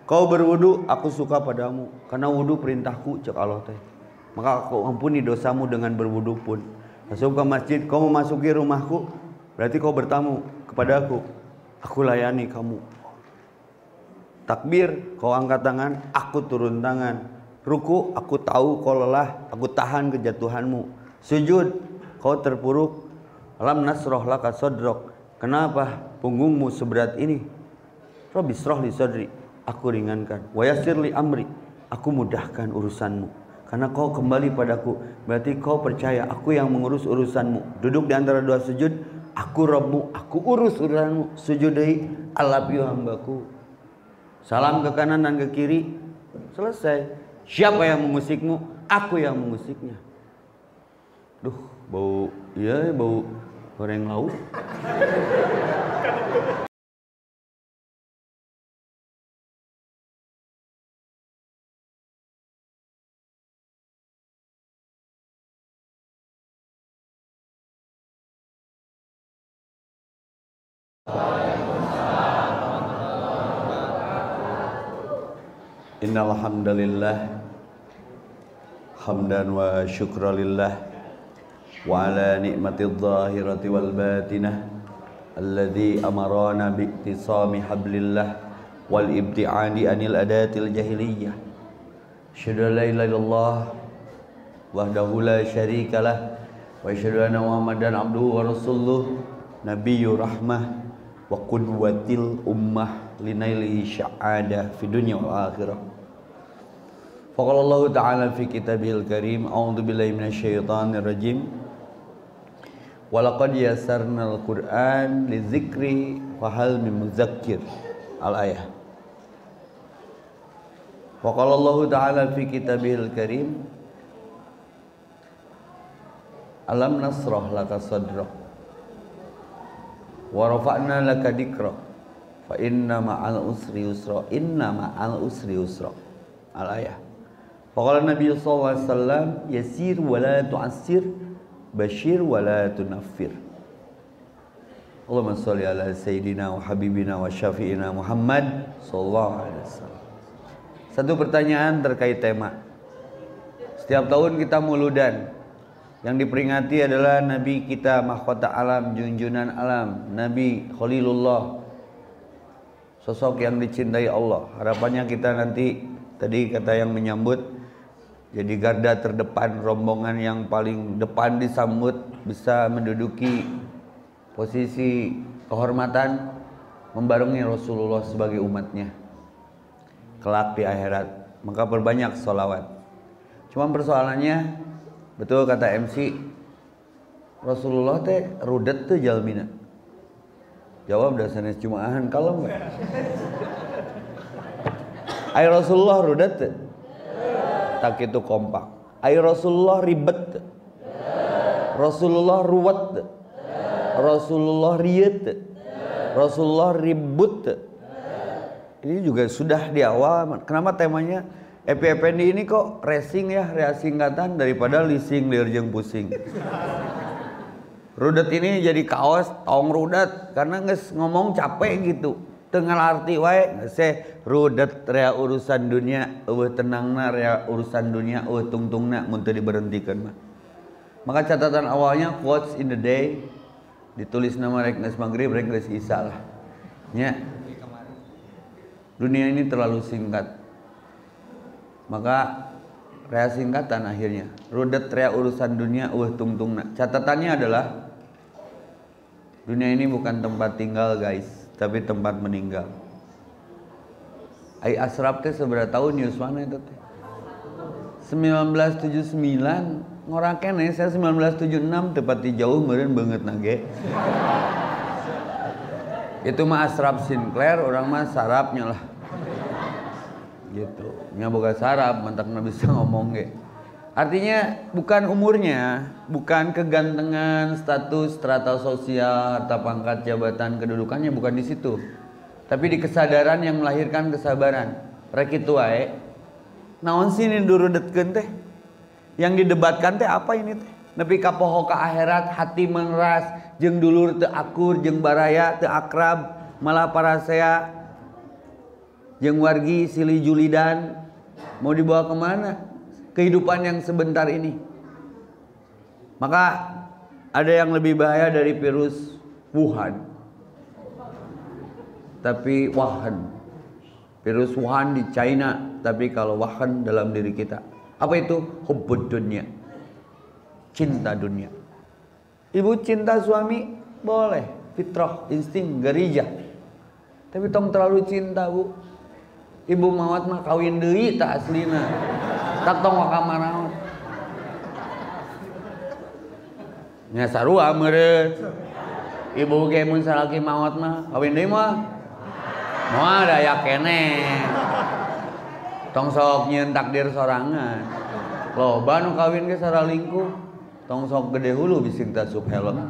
Kau berwudu, aku suka padamu, karena wudu perintahku, cek Allah teh. Maka aku ampuni dosamu dengan berwudu pun. Masuk ke masjid, kau memasuki rumahku, berarti kau bertamu kepada aku layani kamu. Takbir, kau angkat tangan, aku turun tangan. Ruku, aku tahu kau lelah, aku tahan kejatuhanmu. Sujud, kau terpuruk, alam nasroh laka sodrok. Kenapa punggungmu seberat ini? Rabbi sroh li sodri, aku ringankan. Wa yassir li amri, aku mudahkan urusanmu. Karena kau kembali padaku, berarti kau percaya aku yang mengurus urusanmu. Duduk di antara dua sujud, aku Rabbmu, aku urus urusanmu. Sujud deui, alabiu hambaku. Salam ke kanan dan ke kiri, selesai. Siapa yang memusikmu? Aku yang memusiknya. Duh, bau, iya bau goreng lauk. Innal hamdalillah hamdan wa syukralillah wa ala ni'matidh dhahirati wal batinah alladzi amarana bi iktisami hablillah wal ibti'adi anil adatil jahiliyah. Asyhadu an la ilaha illallah wahdahu la syarikalah wa asyhadu anna Muhammadan abduhu wa rasuluh nabiyyur rahmah wa qudwatil ummah linailihi sya'adah fi dunya wal akhirah. Faqala Allah Ta'ala fi kitabihil karim, a'udzu billahi minasyaitonir rajim. Wa laqad yassarnal Qur'an lidzikri fahal min muzakkir. Al-ayah. Faqala Allah Ta'ala fi kitabihil karim, alam nasrah laka sadrak wa rafa'na laka dzikrak fa inna ma'al usri yusra, inna ma'al usri yusra. Al-ayah. Faqala Nabi sallallahu alaihi wasallam, yasir wa la tu'assir, bashir wa la tunaffir. Allahumma shalli ala sayyidina wa habibina wa syafi'ina Muhammad sallallahu alaihi wasallam. Satu pertanyaan terkait tema. Setiap tahun kita muludan. Yang diperingati adalah Nabi kita, mahkota alam, junjunan alam, Nabi Khalilullah, sosok yang dicintai Allah. Harapannya kita nanti, tadi kata yang menyambut, jadi garda terdepan, rombongan yang paling depan disambut, bisa menduduki posisi kehormatan, membarengi Rasulullah sebagai umatnya kelak di akhirat. Maka perbanyak sholawat. Cuma persoalannya, betul kata MC, Rasulullah teh rudet tuh jalmina. Jawab dasarnya cumaahan kalem gak? Ay Rasulullah rudet tuh? Tak itu kompak. Ay Rasulullah ribet. Rasulullah ruwet. Rasulullah riet. Rasulullah ribut. Ini juga sudah di awal. Kenapa temanya EPFND ini kok racing ya, reaksi singkatan daripada leasing lirjeng pusing. Rudet ini jadi kaos tong rudet karena nges ngomong capek gitu. Tengah arti wae se rudet rea urusan dunia, tenangna rea urusan dunia, tungtungna mun teu diberhentikeun mah. Maka catatan awalnya quotes in the day ditulis nama rek geus magrib rek geus isya lah. Nya. Dunia ini terlalu singkat. Maka rea singkatan akhirnya. Rudet rea urusan dunia, tungtungna. Catatannya adalah dunia ini bukan tempat tinggal guys, tapi tempat meninggal. Ai asraf teh seberapa tahun Yuswana itu teh? 1979 ngorang kene, saya 1976 tepati jauh meureun beungeut nage. Itu mah asraf Sinclair, orang mah sarapnya lah. Gitu. Nya boga sarap, mantakna bisa ngomong ge. Artinya bukan umurnya, bukan kegantengan, status, strata sosial, harta pangkat, jabatan, kedudukannya, bukan di situ. Tapi di kesadaran yang melahirkan kesabaran. Rek kitu wae. Naon sih ini durudetkeun teh? Yang didebatkan teh apa ini teh? Nepi ka poho ka akhirat, hati mengeras, jeung dulur teu akur, jeung baraya teu akrab, malah parasea jeung wargi silih julidan. Mau dibawa kemana kehidupan yang sebentar ini? Maka ada yang lebih bahaya dari virus Wuhan. Tapi Wuhan, virus Wuhan di China, tapi kalau Wuhan dalam diri kita. Apa itu? Hubbud dunya, cinta dunia. Ibu cinta suami boleh, fitrah, insting, gerijah. Tapi tong terlalu cinta, Bu. Ibu mawat mah kawin deui tak aslina. Tak tong wakamanaon. Nya sarua meureun. Ibu ge mun salaki mawat mah kawin deui mah. Moal daya keneh. Tong sok nyieun takdir sorangan. Loba nu kawin ge saralingkuh. Tong sok gede hulu bising tasub helm.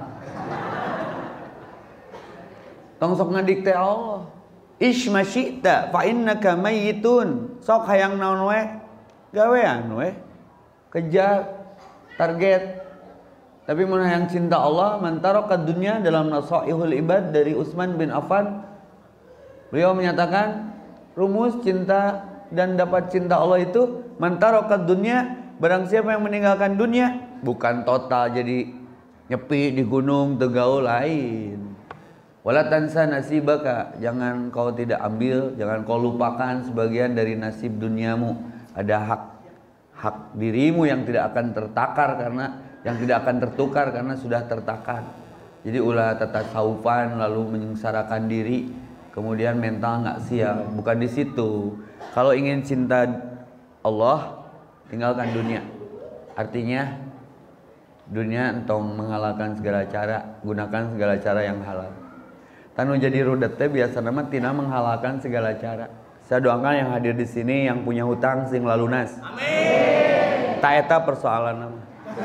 Tong sok ngadikte Allah. Ish masyita fa innaka mayyitun. Sok hayang naon we gawean we. Kejar target. Tapi mun hayang cinta Allah, man taraka dunya dalam Nasaihul Ibad dari Utsman bin Affan. Beliau menyatakan rumus cinta dan dapat cinta Allah itu man taraka dunya, barang siapa yang meninggalkan dunia, bukan total jadi nyepi di gunung teu gaul lain. Wala tansa nasibaka, jangan kau tidak ambil, jangan kau lupakan sebagian dari nasib duniamu. Ada hak dirimu yang tidak akan tertakar karena yang tidak akan tertukar karena sudah tertakar. Jadi ulah tatasawufan lalu menyengsarakan diri, kemudian mental nggak siap. Bukan di situ. Kalau ingin cinta Allah, tinggalkan dunia. Artinya dunia entong mengalahkan segala cara, gunakan segala cara yang halal. Tanu jadi rudet teh biasa nama tina menghalalkan segala cara. Saya doakan yang hadir di sini yang punya hutang sing lalunas. Amin. Ta eta persoalan nama.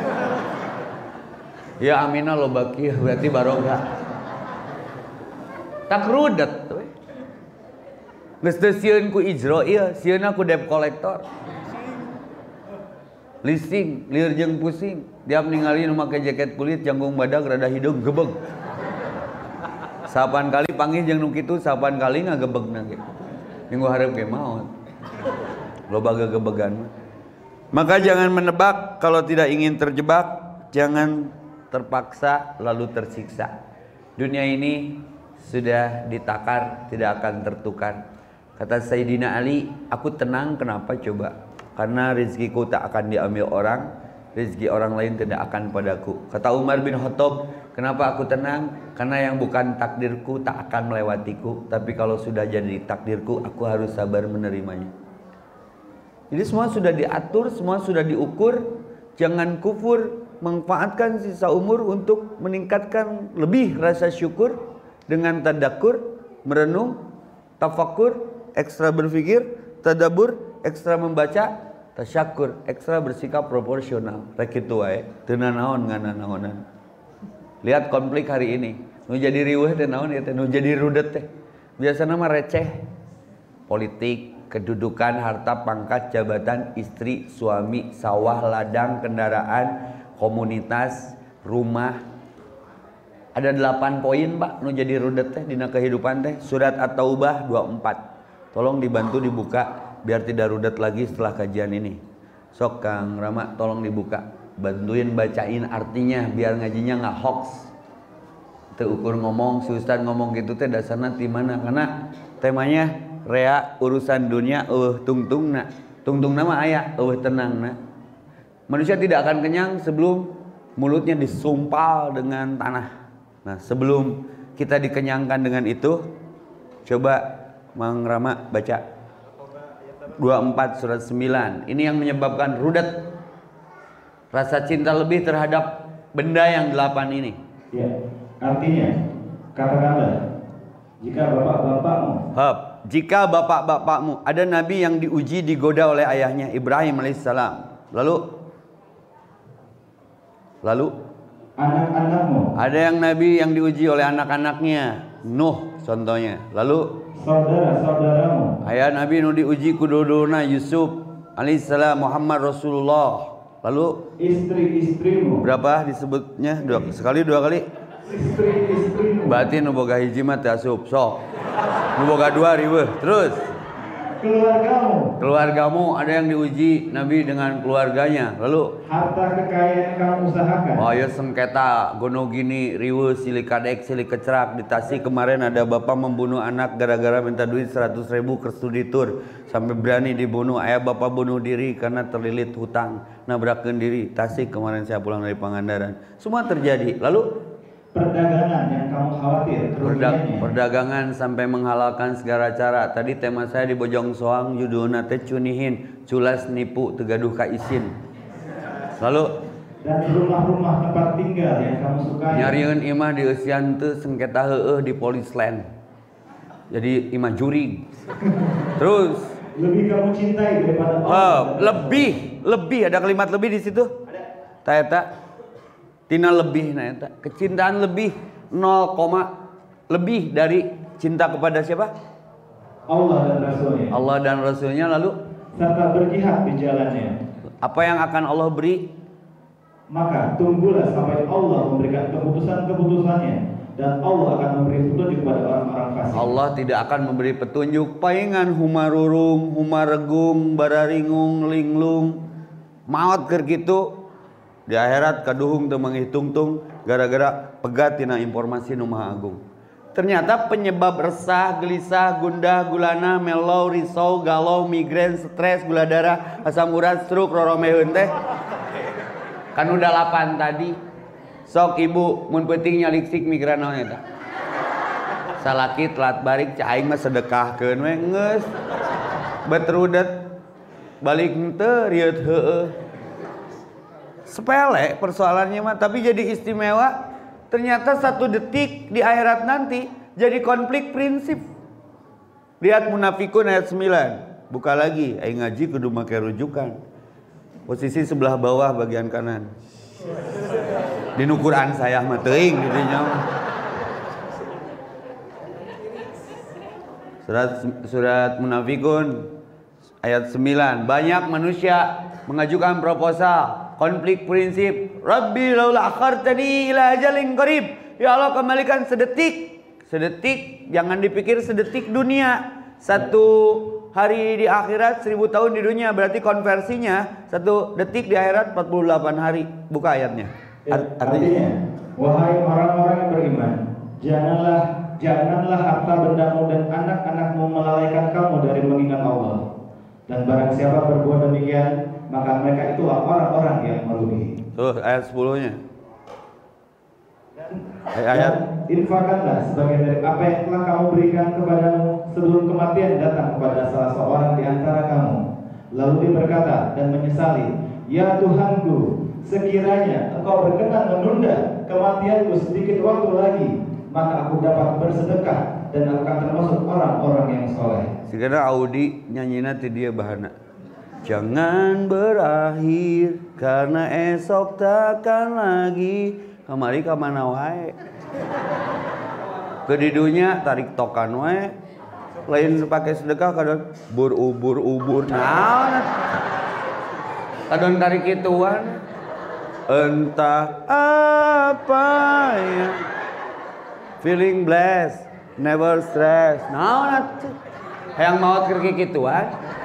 Ya aminah lo baki berarti barokah. Tak rudet we. Geus teu sieun ku ijro ieu, sieunna ku debt collector. Leasing, lieur jeung pusing. Diap ningali nu make jaket kulit janggung badag rada hidung gebeg. Sapan kali panggih jeung nu kitu, sapan kali ngagebegna ge. Minggu hareup ge maot. Loba gegebegan. Maka jangan menebak kalau tidak ingin terjebak, jangan terpaksa lalu tersiksa. Dunia ini sudah ditakar, tidak akan tertukar. Kata Sayyidina Ali, aku tenang kenapa coba? Karena rezekiku tak akan diambil orang, rezeki orang lain tidak akan padaku. Kata Umar bin Khattab, kenapa aku tenang? Karena yang bukan takdirku tak akan melewatiku, tapi kalau sudah jadi takdirku, aku harus sabar menerimanya. Jadi semua sudah diatur, semua sudah diukur. Jangan kufur, manfaatkan sisa umur untuk meningkatkan lebih rasa syukur dengan tadakur, merenung, tafakur, ekstra berpikir, tadabur, ekstra membaca, tasyakur, ekstra bersikap proporsional. Rek kitu wae, teu nanaon ngananaonan. Lihat konflik hari ini. Nu jadi riweuh teh naon ya teh, nu jadi rudet teh. Biasana mah receh. Politik, kedudukan, harta, pangkat, jabatan, istri, suami, sawah, ladang, kendaraan, komunitas, rumah. Ada 8 poin Pak nu jadi rudet teh dina kehidupan teh. Surat At-Taubah 24. Tolong dibantu dibuka biar tidak rudet lagi setelah kajian ini. Sok Kang Rama tolong dibuka. Bantuin bacain artinya biar ngajinya nggak hoax. Teu ukur ngomong, si Ustad ngomong gitu teh dasarna ti mana? Karena temanya rea urusan dunia tungtungna. Tungtungna mah aya tenangna. Manusia tidak akan kenyang sebelum mulutnya disumpal dengan tanah. Nah, sebelum kita dikenyangkan dengan itu, coba Mang Rama baca 24 surat 9. Ini yang menyebabkan rudet. Rasa cinta lebih terhadap benda yang 8 ini. Ya, artinya katakanlah jika bapak-bapakmu. Jika bapak-bapakmu, ada nabi yang diuji digoda oleh ayahnya Ibrahim alaihissalam. Lalu anak-anakmu. Ada yang nabi yang diuji oleh anak-anaknya, Nuh contohnya. Lalu saudara-saudaramu. Ayah nabi nu diuji kududuna Yusuf alaihissalam, Muhammad Rasulullah. Lalu istri-istrimu. Berapa disebutnya? Dua kali? Istri-istrimu. Berarti nu boga hiji mah teh asup. Sok. Nu boga 2 riweuh. Terus Keluargamu ada yang diuji Nabi dengan keluarganya. Lalu harta kekayaan yang kamu usahakan. oh ya sengketa gono gini riweuh silih kadek silih kecerak di Tasik kemarin ada bapak membunuh anak gara-gara minta duit 100.000 ke studi tour sampai berani dibunuh. Ayah bapak bunuh diri karena terlilit hutang nabrakeun diri. Tasik kemarin saya pulang dari Pangandaran. Semua terjadi. Lalu perdagangan yang kamu khawatir kerugiannya. Perdagangan sampai menghalalkan segala cara. Tadi tema saya di Bojong Soang judulna teh cunihin, culas nipu tegaduh ka isin. Lalu dan rumah-rumah tempat tinggal yang kamu sukai. Nyarieun imah di eusian teu sengketa heueuh di Police Land. Jadi imah jurig. Terus lebih kamu cintai daripada Allah. Lebih ada kalimat lebih di situ. Ada. Eta tina lebih na eta. Kecintaan lebih 0, lebih dari cinta kepada siapa? Allah dan Rasulnya. Allah dan Rasulnya. Lalu serta berjihad di jalannya. Apa yang akan Allah beri? Maka tunggulah sampai Allah memberikan keputusan-keputusannya dan Allah akan memberi petunjuk kepada orang-orang fasik. Allah tidak akan memberi petunjuk paingan humarurung, humaregung, bararingung, linglung, maot keur kitu. Di akhirat kaduhung teu manghitung-tung gara-gara pegat tina informasi nu maha agung. Ternyata penyebab resah, gelisah, gundah, gulana, melo, risau, galau, migrain, stres, gula darah, asam urat, stroke, roromeheun teh kan udah 8 tadi. Sok ibu mun peuting nyaliksik migran naon eta. Salaki telat balik cai aing mah sedekahkeun we geus. Betrudet balik teu rieuh heueuh. Sepele persoalannya mah, tapi jadi istimewa. Ternyata 1 detik di akhirat nanti jadi konflik prinsip. Lihat Munafikun ayat 9. Buka lagi, aing ngaji kudu make rujukan. Posisi sebelah bawah bagian kanan. Di Quran saya mah teuing gitu nya. Surat Munafikun ayat 9. Banyak manusia mengajukan proposal konflik prinsip. Rabbi laula akhartani ila ajalin qarib. Ya Allah kembalikan sedetik. Sedetik, jangan dipikir sedetik dunia. 1 hari di akhirat 1000 tahun di dunia. Berarti konversinya 1 detik di akhirat 48 hari. Buka ayatnya. Artinya, wahai orang-orang yang beriman, janganlah harta bendamu dan anak-anakmu melalaikan kamu dari mengingat Allah. Dan barang siapa berbuat demikian, maka mereka itulah orang-orang yang merugi. Tuh ayat 10-nya. Dan infakkanlah sebagian dari apa yang telah kamu berikan kepadamu sebelum kematian datang kepada salah seorang di antara kamu. Lalu dia berkata dan menyesali, ya Tuhanku, sekiranya engkau berkenan menunda kematianku sedikit waktu lagi, maka aku dapat bersedekah dan akan termasuk orang-orang yang soleh. Sekarang Audi nyanyina ti dia bahana. Jangan berakhir karena esok takkan lagi. Kamari ka mana wae. Kedidunya tarik tokan wae. Lain pakai sedekah kadon ubur. Naon? Kadon tarik kituan. Entah apa ya. Feeling blessed, never stress. Naon atuh? Hayang maot keur kituan.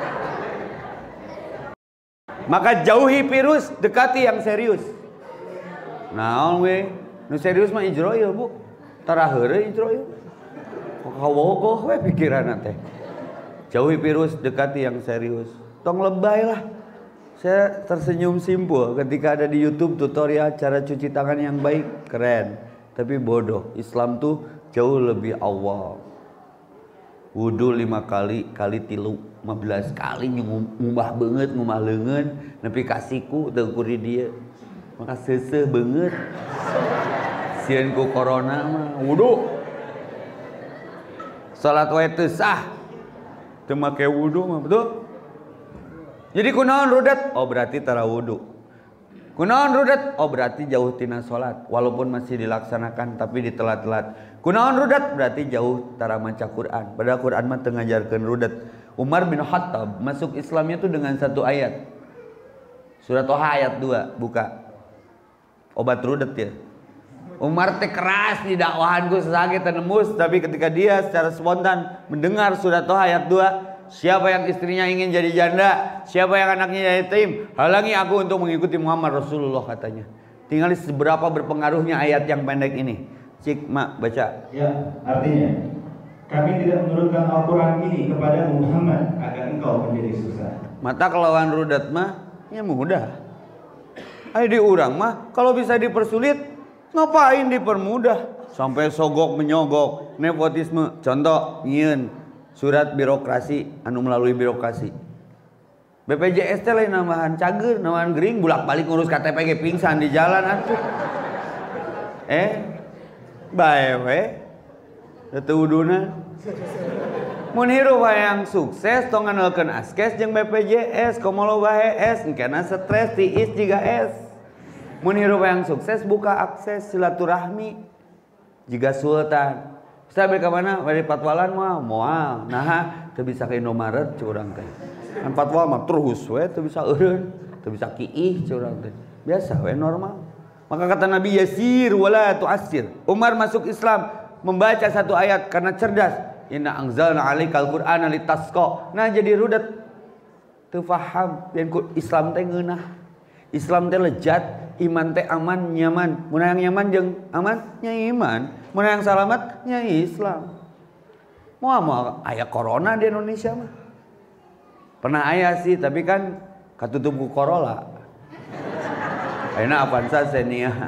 Maka jauhi virus, dekati yang serius. Naon we? Nu serius mah ijroil, Bu. Tara heureuy ijroil. Kawogoh we pikiranna teh. Jauhi virus, dekati yang serius. Tong lebay lah. Saya tersenyum simpul ketika ada di YouTube tutorial cara cuci tangan yang baik, keren. Tapi bodoh. Islam tuh jauh lebih awal. Wudu 5 kali, kali 15 kali ngubah banget, ngubah leungeun, nepi ka siku teu kuri dia. Maka seuseuh banget. Sieun ku corona mah wudu. Salat wae teu sah. Teu make wudu mah betul. Jadi kunaon rudat? Oh berarti tara wudu. Kunaon rudat? Oh berarti jauh tina salat. Walaupun masih dilaksanakan tapi ditelat-telat. Kunaon rudat? Berarti jauh tara maca Quran. Padahal Quran mah teu ngajarkeun rudat. Umar bin Khattab masuk Islamnya tuh dengan 1 ayat. Surat Toha ayat 2, buka. Obat rudat ya. Umar teh keras di dakwahan ku sesage teu nembus, tapi ketika dia secara spontan mendengar surat Toha ayat 2, Siapa yang istrinya ingin jadi janda, siapa yang anaknya yatim, halangi aku untuk mengikuti Muhammad Rasulullah katanya. Tinggal seberapa berpengaruhnya ayat yang pendek ini. Cik, Mak, baca. Ya, artinya kami tidak menurunkan Al-Quran ini kepada Muhammad agar engkau menjadi susah. Mata kelawan rudat mah, ya mudah. Ayo diurang mah, kalau bisa dipersulit, ngapain dipermudah? Sampai sogok menyogok, nepotisme. Contoh, nyiun surat birokrasi, anu melalui birokrasi. BPJS teh lain nambahan cager, nambahan gering, bulak-balik ngurus KTP ge pingsan di jalan atuh. Bae we. Teu uduna. Mun hirup hayang sukses tong ngandalkeun askes jeung BPJS, komo loba HS, engkena stres tiis jiga S. Mun hirup hayang sukses buka akses silaturahmi jiga sultan. Sabe ka mana? Bari patwalan moal. Nah, teu bisa ka Indomaret curang teh. Kan patwal mah terus we teu bisa eureun, teu bisa kiih curang teh. Biasa we normal. Maka kata Nabi yasir wala tu'assir. Umar masuk Islam membaca satu ayat karena cerdas. Inna anzalna 'alaikal qur'ana litasqa. Nah jadi rudet teu paham yen Islam teh ngeunah. Islam teh lejat, iman teh aman, nyaman. Mun hayang nyaman jeung aman nya iman, mun hayang salamet nya Islam. Moal aya corona di Indonesia mah. Pernah aya sih, tapi kan katutup ku Corolla. Ayeuna Avanza Xenia.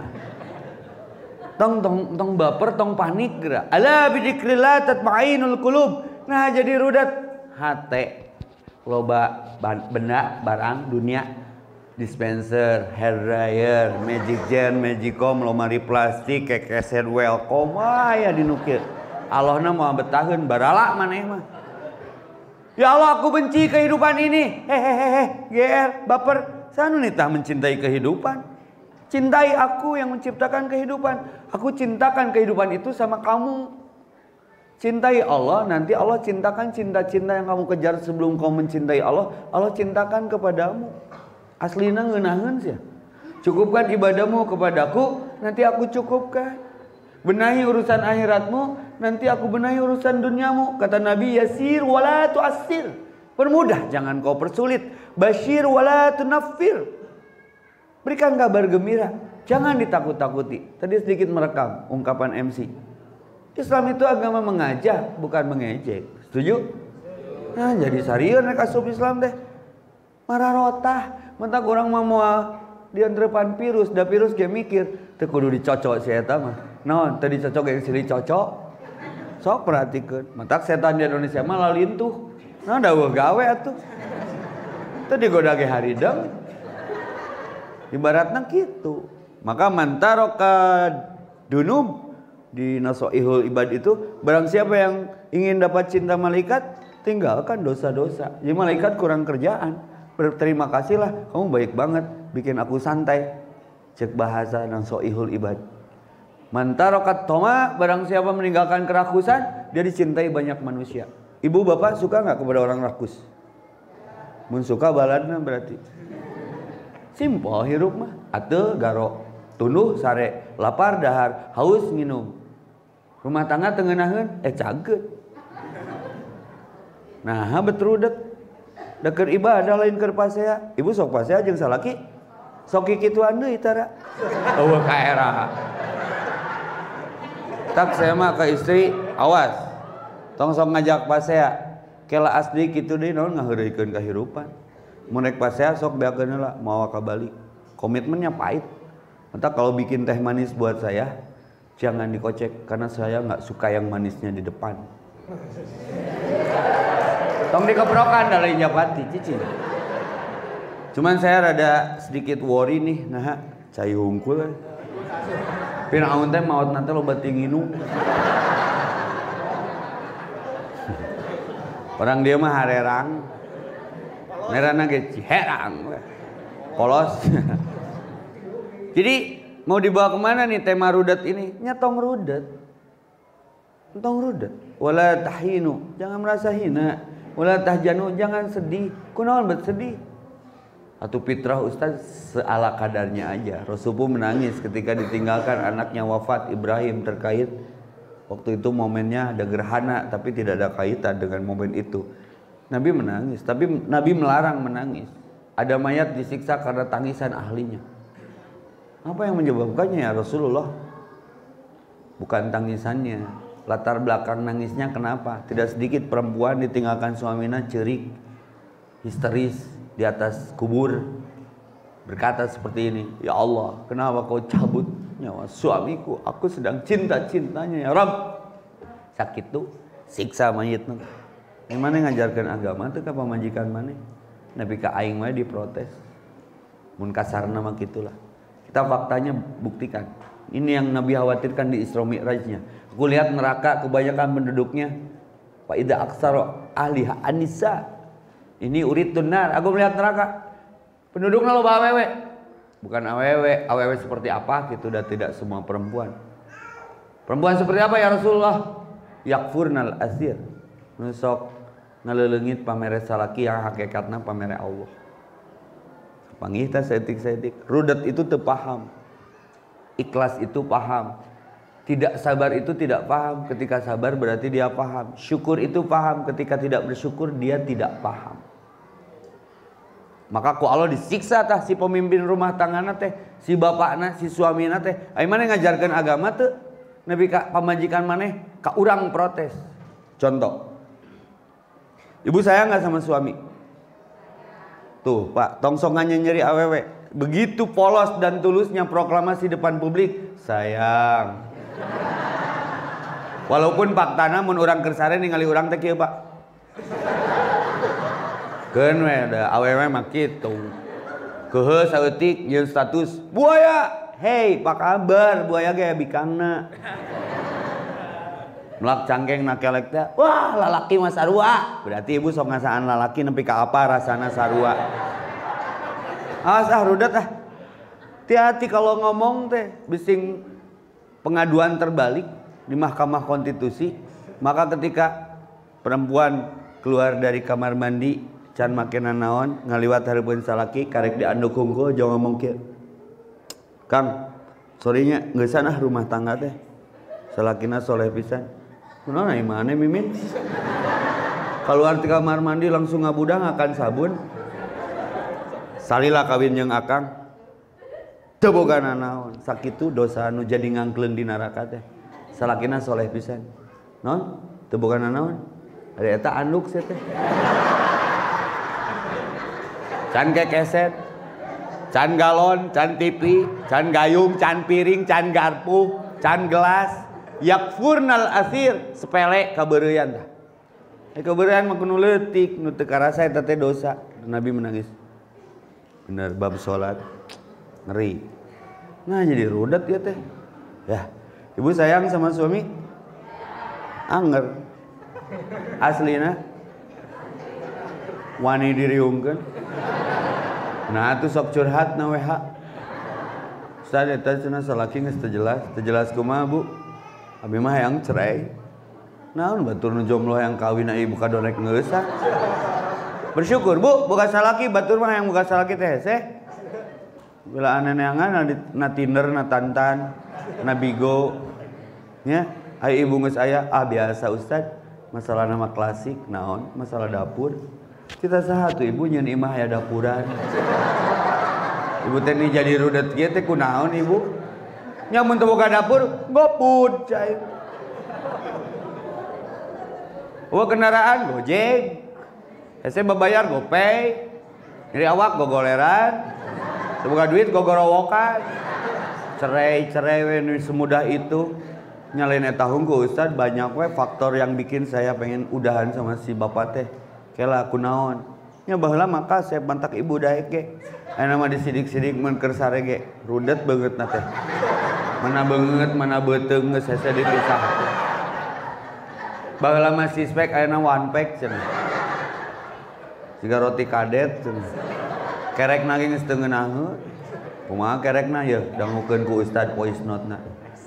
Tong baper, tong panik geura. Ala bidzikrillah tatma'innul qulub. Nah jadi rudat hate. Loba benda barang dunia, dispenser, hair dryer, magic jar, magicom, lomari plastik, kekeset welcome aya dinu kieu. Allahna moal betaheun barala maneh mah. Ya Allah, aku benci kehidupan ini. Hehehe, GR, baper. Sanu nitah mencintai kehidupan. Cintai aku yang menciptakan kehidupan. Aku cintakan kehidupan itu sama kamu. Cintai Allah, nanti Allah cintakan cinta-cinta yang kamu kejar sebelum kamu mencintai Allah. Allah cintakan kepadamu. Aslina ngeunaheun sia. Cukupkan ibadahmu kepadaku, nanti aku cukupkan. Benahi urusan akhiratmu, nanti aku benahi urusan duniamu. Kata Nabi, yasir wala tu'assir. Permudah, jangan kau persulit. Basyir wala tunaffir. Berikan kabar gembira, jangan ditakut-takuti. Tadi sedikit merekam ungkapan MC. Islam itu agama mengajak, bukan mengejek. Setuju? Nah, jadi sarieur nek asup Islam teh. Marah rotah, mentak urang mah moal diantrepan virus, da virus ge mikir, teu kudu dicocok si eta mah. Naon, teu dicocok ge silih cocok. Sok perhatikeun, mentak setan di Indonesia mah lalintuh. Nah, daweuh gawe atuh. Teu digoda ge harideng. Ibaratnya gitu. Maka mantaroka dunub di Nasoihul Ibad itu, barang siapa yang ingin dapat cinta malaikat, tinggalkan dosa-dosa. Jadi malaikat kurang kerjaan. Berterima kasihlah, kamu baik banget, bikin aku santai. Cek bahasa Nasoihul Ibad. Mantarokat toma, barang siapa meninggalkan kerakusan, dia dicintai banyak manusia. Ibu bapak suka nggak kepada orang rakus? Mun suka baladna berarti. Simpel hirup mah, atuh garo, tunduh sare, lapar dahar, haus nginum. Rumah tangga tengenaheun, cageut. Nah, betrudet. Deket ibadah lain keur pasea. Ibu sok pasea jeung salaki. Sok kikituan deui tara. Eueuh ka era. Tak saya mah ke istri, awas. Tong sok ngajak pasea. Kela asli kitu deui naon ngaheureukeun kahirupan. Mun rek pasea sok beakeun heula mawa ka balik. Komitmennya pahit. Entah kalau bikin teh manis buat saya, jangan dikocek karena saya nggak suka yang manisnya di depan. Tong dikeprokan dari Japati, cici. Cuman saya rada sedikit worry nih, nah, cai hungkul. Pinaun teh maot nanti loba tinginu. Orang dia mah harerang. Merana ge ciherang. Polos. Jadi mau dibawa kemana nih tema rudat ini? Nyatong rudat. Tong rudat. Wala tahinu, jangan merasa hina. Wala tahjanu, jangan sedih. Kunaon bet sedih? Atau fitrah Ustaz seala kadarnya aja. Rasulullah menangis ketika ditinggalkan anaknya wafat Ibrahim terkait waktu itu momennya ada gerhana tapi tidak ada kaitan dengan momen itu. Nabi menangis, tapi Nabi melarang menangis. Ada mayat disiksa karena tangisan ahlinya. Apa yang menyebabkannya ya Rasulullah? Bukan tangisannya. Latar belakang nangisnya kenapa? Tidak sedikit perempuan ditinggalkan suaminya cerik, histeris di atas kubur, berkata seperti ini, ya Allah, kenapa kau cabut nyawa suamiku? Aku sedang cinta-cintanya ya Rabb. Sakit tuh, siksa mayitnya. Yang mana ngajarkan agama itu ke pamajikan mana? Nabi ka aing mah diprotes. Mun kasarna mah gitulah. Kita faktanya buktikan. Ini yang Nabi khawatirkan di Isra Mi'rajnya. Aku lihat neraka kebanyakan penduduknya fa idza aksara ahliha anisa. Ini uritun nar. Aku melihat neraka. Penduduknya loba awewe. Bukan awewe, awewe seperti apa gitu, dan tidak semua perempuan. Perempuan seperti apa ya Rasulullah? Yakfurnal asir. Nusok ngaleulengit pamere salaki yang hakikatna pamere Allah. Panggih teh setik-setik. Rudat itu teu paham. Ikhlas itu paham. Tidak sabar itu tidak paham. Ketika sabar berarti dia paham. Syukur itu paham. Ketika tidak bersyukur dia tidak paham. Maka ku Allah disiksa tah si pemimpin rumah tanggana teh, si bapakna, si suamina teh. Ai maneh ngajarkeun agama teu? Nabi ka pamajikan maneh ka urang protes. Contoh. Ibu sayang nggak sama suami? Tuh Pak, tongsongannya nyeri awewe. Begitu polos dan tulusnya proklamasi depan publik, sayang. Walaupun faktana mun urang kersare ningali urang teh kieu Pak. Keun we da awewe mah kitu. Keuheus saeutik jeung status buaya. Hei, apa kabar? Buaya ge bikangna. Melak cangkeng nakelek teh, wah lalaki mah sarua. Berarti ibu sok ngasaan lalaki nepi ka apa rasana sarua. Awas rudat ah. Hati-hati kalau ngomong teh bising pengaduan terbalik di Mahkamah Konstitusi. Maka ketika perempuan keluar dari kamar mandi can makenan naon ngaliwat hareupeun salaki karek dianduk hungkul jangan ngomong kieu. Kang, sorenya geus sana rumah tangga teh. Salakina soleh pisan. Kunaon ieu maneh Mimin? Keluar di kamar mandi langsung ngabudang akan sabun. Salila kawin jeung akang. Teu boga nanaon. Sakitu dosa anu jadi ngangkleun di neraka teh. Salakina soleh pisan. Naon? Teu boga nanaon. Ari eta anduk sia teh. Can kekeset. Can galon, can TV, can gayung, can piring, can garpu, can gelas. Yakfurnal asir, sepele kabeureyan tah. Kabeureyan mah kudu leutik, nu teu karasa eta teh dosa. Nabi menangis. Bener bab salat. Ngeri. Nah jadi rudat ya teh. Ya, ibu sayang sama suami? Anger. Aslina wani diriungkeun. Nah atuh sok curhat na WH. Ustaz eta cenah salaki geus teu jelas. Teu jelas kumaha Bu? Abi mah hayang cerai. Naon batur nu jomblo yang kawin ieu buka dorek ngeusa. Bersyukur Bu, boga salaki batur mah hayang boga salaki teh hese. Bila aneneangan na Tinder, na Tantan, na Bigo. Nya, aya ibu geus aya, biasa Ustaz. Masalah nama klasik, naon? Masalah dapur. Kita saha tuh ibu nyeun imah aya dapuran. Ibu teh ni jadi rudet kieu teh kunaon ibu? Nya mun teu boga dapur, GoFood cai. Kendaraan Gojek. Hese babayar GoPay. Nyeri awak gogoleran. Teu boga duit gogorowokan. Cerai we nu semudah itu. Nyalain eta hungkul Ustaz, banyak we faktor yang bikin saya pengen udahan sama si bapak teh. Kela kunaon? Nya baheula maka saya bantak ibu daek ge. Aya mah disidik-sidik mun keur sare ge. Rudet beungeutna teh. Mana beungeut, mana beuteung geus hese dipisah. Baheula mah sispek ayeuna one pack cenah. Siga roti kadet cenah. Kerekna ge geus teu ngeunaheun. Kumaha kerekna ye dangukeun ku Ustad voice note-na.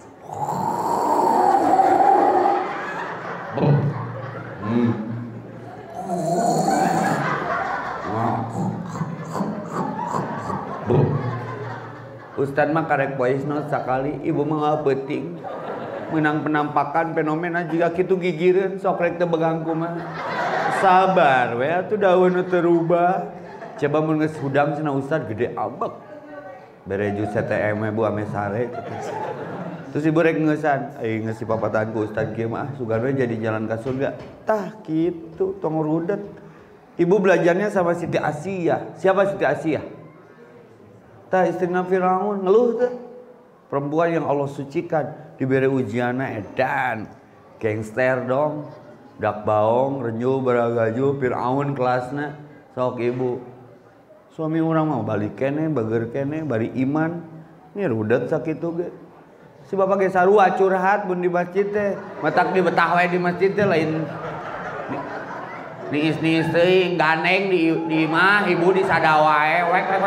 Ustad mah karek voice note sakali, ibu mah penting. Menang penampakan fenomena jika kitu gigireun sok rek teu begang kumaha. Sabar we atuh daun terubah. Coba mun geus hudang cenah ustad gede abek. Bere jus CTM bu ame sare. Terus ibu rek ngeusan, ngeusi papatan ku ustad kieu mah sugan we jadi jalan ka surga. Tah kitu tong rudet. Ibu belajarnya sama Siti Asiyah. Siapa Siti Asiyah? Tah istrina Firaun ngeluh teh. Perempuan yang Allah sucikan diberi ujianna edan. Gangster dong. Dak baong, renyu, baragaju, Firaun kelasna. Sok ibu. Suami orang mau balik kene, bager kene, bari iman. Ini rudet sakitu ge. Si bapak ge sarua curhat bun di masjid teh. Matak di betah we di masjid teh lain niis-niis teuing ganeng di imah ibu di sadawae.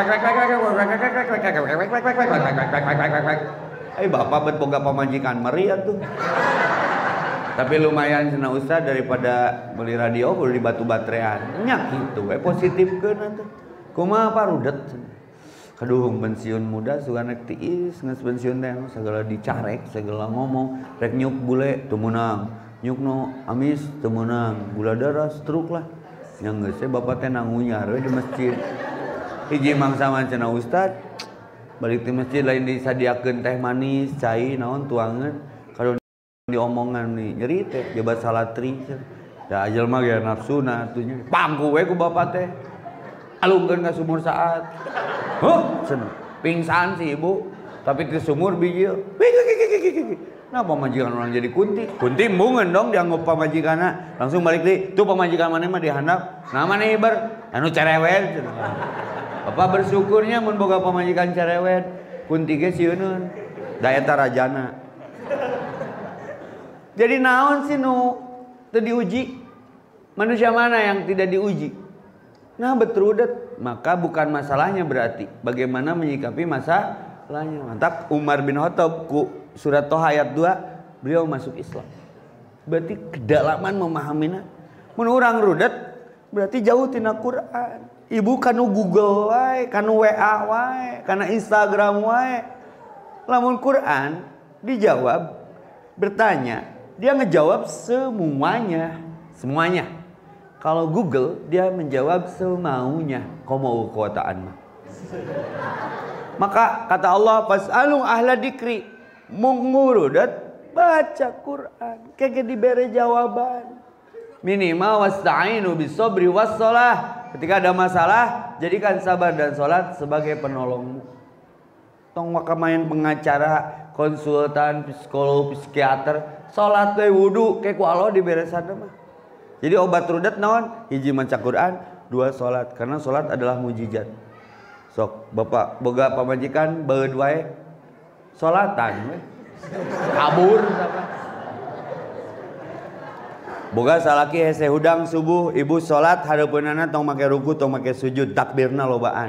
Bapak bet boga pamajikan meri atuh. Tapi lumayan cenah ustaz daripada beli radio kudu di batu baterean. Nya kitu we positifkeun atuh. Kumaha parudet. Kaduhung pensiun muda sugana tiis geus pensiun teh sagala dicarek, sagala ngomong, rek nyuk bule teu meunang. Nyuk no amis teu meunang, gula darah stroke lah. Yang geus bapak teh nangunyar we di masjid. Hiji mangsa cenah ustaz balik di masjid lain disadiakeun teh manis, cai naon tuangeun. Kalau diomongan nih nyeri teh jabat salatri. Da ajal mah ge nafsuna atuh pangku we ku bapak teh. Alungkeun ka sumur saat. Huh, pingsan si ibu, tapi di sumur biji. Nah pamajikan orang jadi kunti. Kunti embungan dong dianggap pamajikanna. Langsung balik deui. Tuh pamajikan maneh mah dihandap. Nah maneh ber anu cerewet. Bapak bersyukurnya mun boga pamajikan cerewet. Kunti ge sieunun. Da eta rajana. Jadi naon sih nu teu diuji? Manusia mana yang tidak diuji? Nah betrudet, maka bukan masalahnya berarti bagaimana menyikapi masalahnya. Mantap Umar bin Khattab ku surat Toha ayat 2 beliau masuk Islam. Berarti kedalaman memahaminya. Mun urang rudet berarti jauh tina Quran. Ibu kanu Google wae, kanu WA wae, kana Instagram wae. Lamun Quran dijawab bertanya, dia ngejawab semuanya. Kalau Google dia menjawab semaunya. Qomau kuataan mah. Maka kata Allah fasalu ahla dikri mungurudat baca Quran kege dibere jawaban. Minimal wasta'inu bisobri wassalah. Ketika ada masalah jadikan sabar dan salat sebagai penolongmu. Tong maka main pengacara, konsultan, psikolog, psikiater, salat teh wudu ke ku Allah dibere sadeu mah. Jadi obat rudet naon? Hiji maca Quran, 2 salat. Karena salat adalah mujizat. Sok bapak boga pamajikan beud wae salatan we. Kabur boga salaki hese hudang subuh, ibu salat hareupeunana tong make ruku, tong make sujud, takbirna lobaan.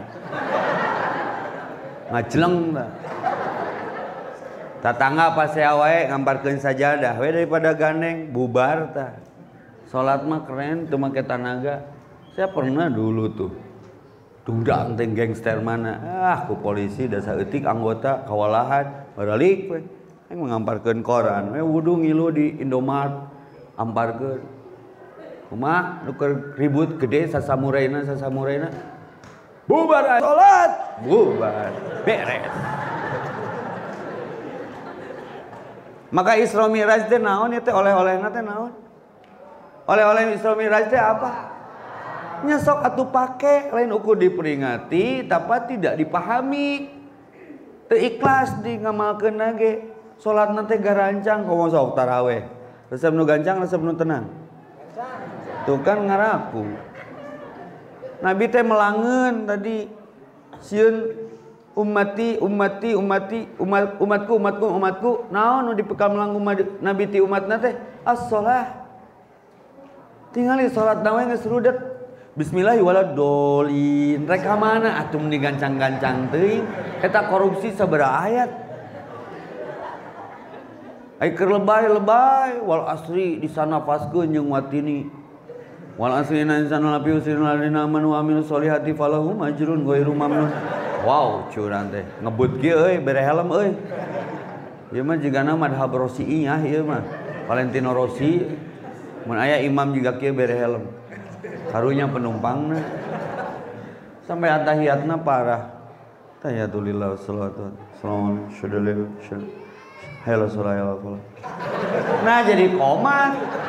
Ngajleng tah. Tatangga pasea wae ngamparkeun sajadah we daripada gandeng bubar tah. Salat mah keren, tuh make tenaga. Saya pernah dulu tuh dudang teh gangster mana. Ku polisi da saeutik anggota kawalahan baralik we. Aing ngamparkeun koran, we wudu ngilu di Indomart amparkeun. Kumaha nu keur ribut gede sasamuraina. Bubar salat, bubar. Beres. Maka Isra Mi'raj teh naon ya teh oleh-olehna teh naon? Oleh-oleh Isra Mi'raj teh apa? Nyesok atuh pake lain ukur diperingati tapi tidak dipahami. Teu ikhlas di ngamalkeun ge. Salatna teh garancang komo sok tarawih. Resep nu gancang, resep nu tenang. Tuh kan ngaraku. Nabi teh melangeun tadi sieun umatku naon nu dipekam langkung Nabi ti umatna teh as-shalah. Tinggali salat nawe geus rudet. Bismillahirrahmanirrahim. Rek ka mana atuh mun digancang-gancang teuing? Eta korupsi sabaraha ayat? Ai keur lebay wal asri disanafaskeun jeung watini. Wal asri inna insana lafi khusrin ladina amanu wa amilus solihati falahum ajrun ghairu mamnun. Wow, curang teh. Ngebut kieu euy, bere helm euy. Ieu mah jigana madhab Rosi'iyah ieu mah. Valentino Rossi mun aya imam juga kieu bere helm. karunya penumpangna. Sampai atahiyatna parah. Tahiyatulillah wassalatu wassalamu ala. Nah jadi komat.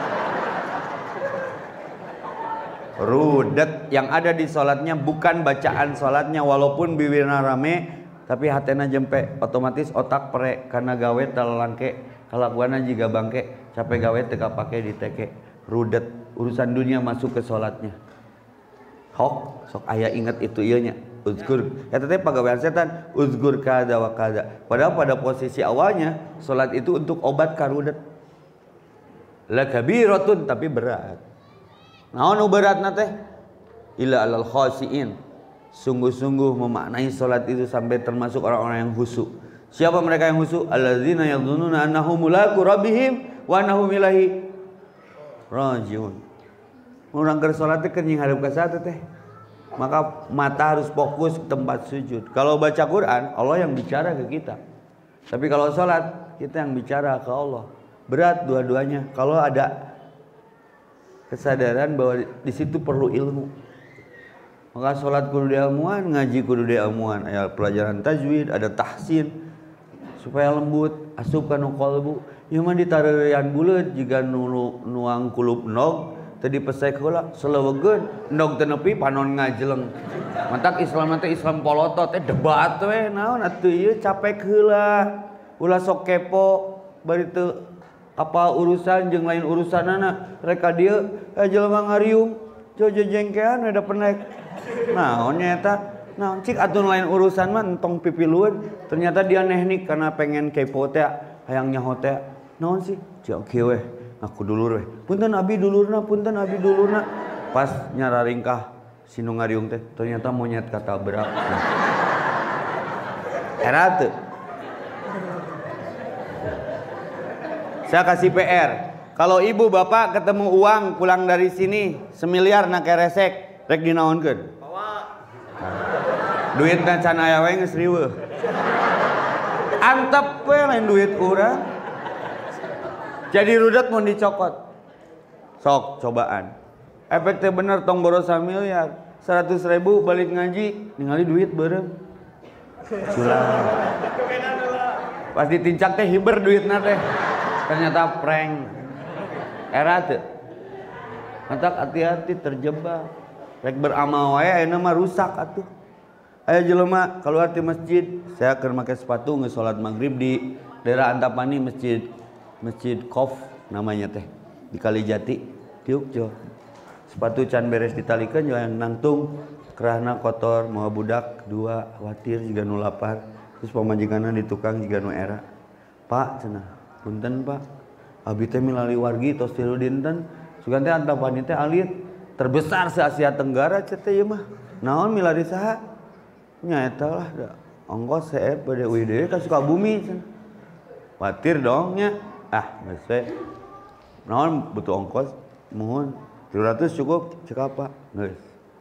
Rudet yang ada di sholatnya bukan bacaan sholatnya, walaupun bibirna rame tapi hatena jempe, otomatis otak pere karena gawe talangke kalakuana juga bangke capek gawe teka pakai di teke. Rudet urusan dunia masuk ke sholatnya. Sok aya ingat itu ieunya uzkur eta teh pagawean setan, uzkur kada wa kada. Padahal pada posisi awalnya sholat itu untuk obat ka rudet. La kabiratun tapi berat. Naon nu beratna teh? Illa alal khasiin. Sungguh-sungguh memaknai salat itu sampai termasuk orang-orang yang khusyuk. Siapa mereka yang khusyuk? Alladzina yadhunnuna annahum mulaqu rabbihim wa annahum ilaihi rajiun. Urang keur salat teh keur ngarep ka saha teh? Maka mata harus fokus ke tempat sujud. Kalau baca Quran, Allah yang bicara ke kita. Tapi kalau salat, kita yang bicara ke Allah. Berat dua-duanya. Kalau ada kesadaran bahwa di situ perlu ilmu, maka sholat kudu diilmuan, ngaji kudu diilmuan. Aya pelajaran tajwid, ada tahsin supaya lembut, asup kana qalbu. Ieu mah ditareurian buleut jiga nuang kulub nog tadi pesek heula selewegeun nog teu nepi panon ngajeleng. Mantak Islam teh Islam polotot debat we naon atuh ieu capek heula. Ulah sok kepo bari teu apa urusan jeung lain urusanana reka dieu jelema ngariung jojo jengkean ada penek naon nya eta naon cik atuh lain urusan mah entong pipilueun ternyata dia teknik karena pengen kepo teh hayang nyaho teh naon sih cik kieu weh aku dulur weh punten abi dulurna pas nyararingkah si nu ngariung teh ternyata monyet katabrak era teu. Saya kasih PR. Kalau ibu bapak ketemu uang pulang dari sini 1 miliar na keresek, rek dinaonkeun? Bawa. Duitna can aya we geus riweuh. Antep we lain duit urang. Jadi rudet mun dicokot. Sok cobaan. Efek teh bener tong boros 1 miliar. 100.000 balik ngaji, ningali duit beureum. Culang. Pas ditincak teh hiber duitna teh. Ternyata prank. Era teu. Mantak hati-hati terjebak. Rek beramal wae ayeuna mah rusak atuh. Aya jelema keluar ti masjid, saya keur make sepatu geus salat maghrib di daerah Antapani Masjid Qof namanya teh di Kalijati. Tiuk jo. Sepatu can beres ditalikeun jo yang nangtung kerahna kotor moal budak 2 khawatir jiga nu lapar. Terus pamajikanna di tukang jiga nu era. Pak cenah punten Pak, abi teh milali wargi tos tilu dinten, sugan teh Antapani teh alit terbesar se Asia Tenggara cenah teh ieu mah. Naon milari saha? Nya eta lah da ongkos CF bade UID ka Sukabumi cenah. Watir dong nya. Ah, geus we. Naon butuh ongkos? Mohon 300 cukup cek apa? Geus.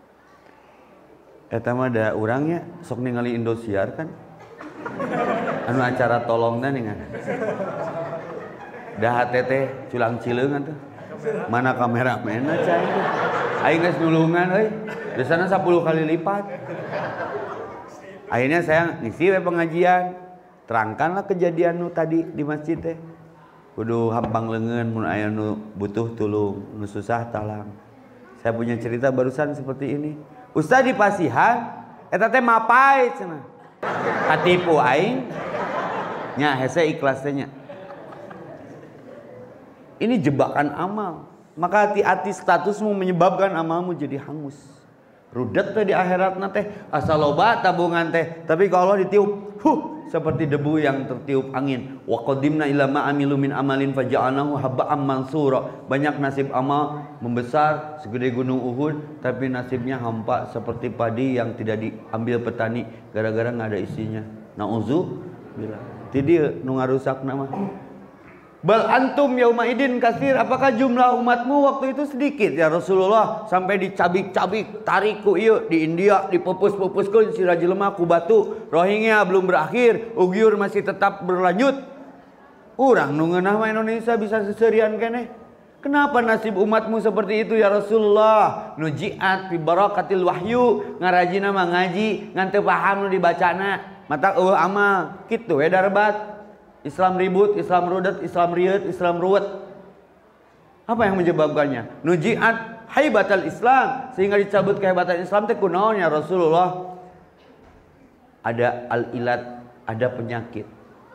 Eta mah da urangnya sok ningali Indosiar kan. Anu acara tolongna ningan. Dah teh culang cileung atuh. Mana kameramenna cai teh. Aing geus nulungan euy. Biasana 10 kali lipat. Akhirnya saya ngisi we pengajian. Terangkanlah kejadian nu tadi di masjid teh. Kudu hampang leungeun mun aya nu butuh tulung, nu susah talang. Saya punya cerita barusan seperti ini. Ustaz di Pasihan eta teh mapai cenah. Katipu aing. Nya hese ikhlas teh nya. Ini jebakan amal. Maka hati-hati statusmu menyebabkan amalmu jadi hangus. Rudet teh di akhiratna teh asa loba tabungan teh, tapi kalau Allah ditiup, seperti debu yang tertiup angin. Wa qadimna ila ma amilu min amalin faja'alnahu habba'an mansura. Banyak nasib amal membesar segede gunung Uhud, tapi nasibnya hampa seperti padi yang tidak diambil petani gara-gara enggak ada isinya. Nauzubillah. Ti dieu nu ngarusak nama. Bal antum yauma idin kasir, apakah jumlah umatmu waktu itu sedikit ya Rasulullah, sampai dicabik-cabik tariku ieu di India dipupus-pupuskeun si jelema ku batu. Rohingya belum berakhir, Uighur masih tetap berlanjut. Urang nu ngeunah mah Indonesia bisa seserian keneh. Kenapa nasib umatmu seperti itu ya Rasulullah? Nujiat fi barakatil wahyu, ngarajina mah ngaji ngan teu paham nu dibacana. Mata amal kitu we darbat. Islam ribut, Islam rudet, Islam riut, Islam ruwet. Apa yang menyebabkannya? Nujiat haibatal Islam, sehingga dicabut kehebatan Islam teh kunaon ya Rasulullah? Ada al-ilat, ada penyakit.